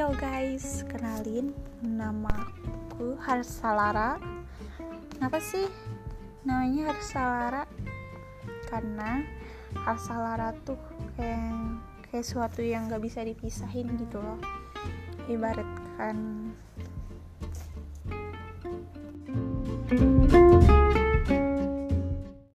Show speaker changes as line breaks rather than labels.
Yo guys, kenalin, namaku Harsalara. Kenapa sih namanya Harsalara? Karena Harsalara tuh kayak suatu yang gak bisa dipisahin gitu loh. Ibaratkan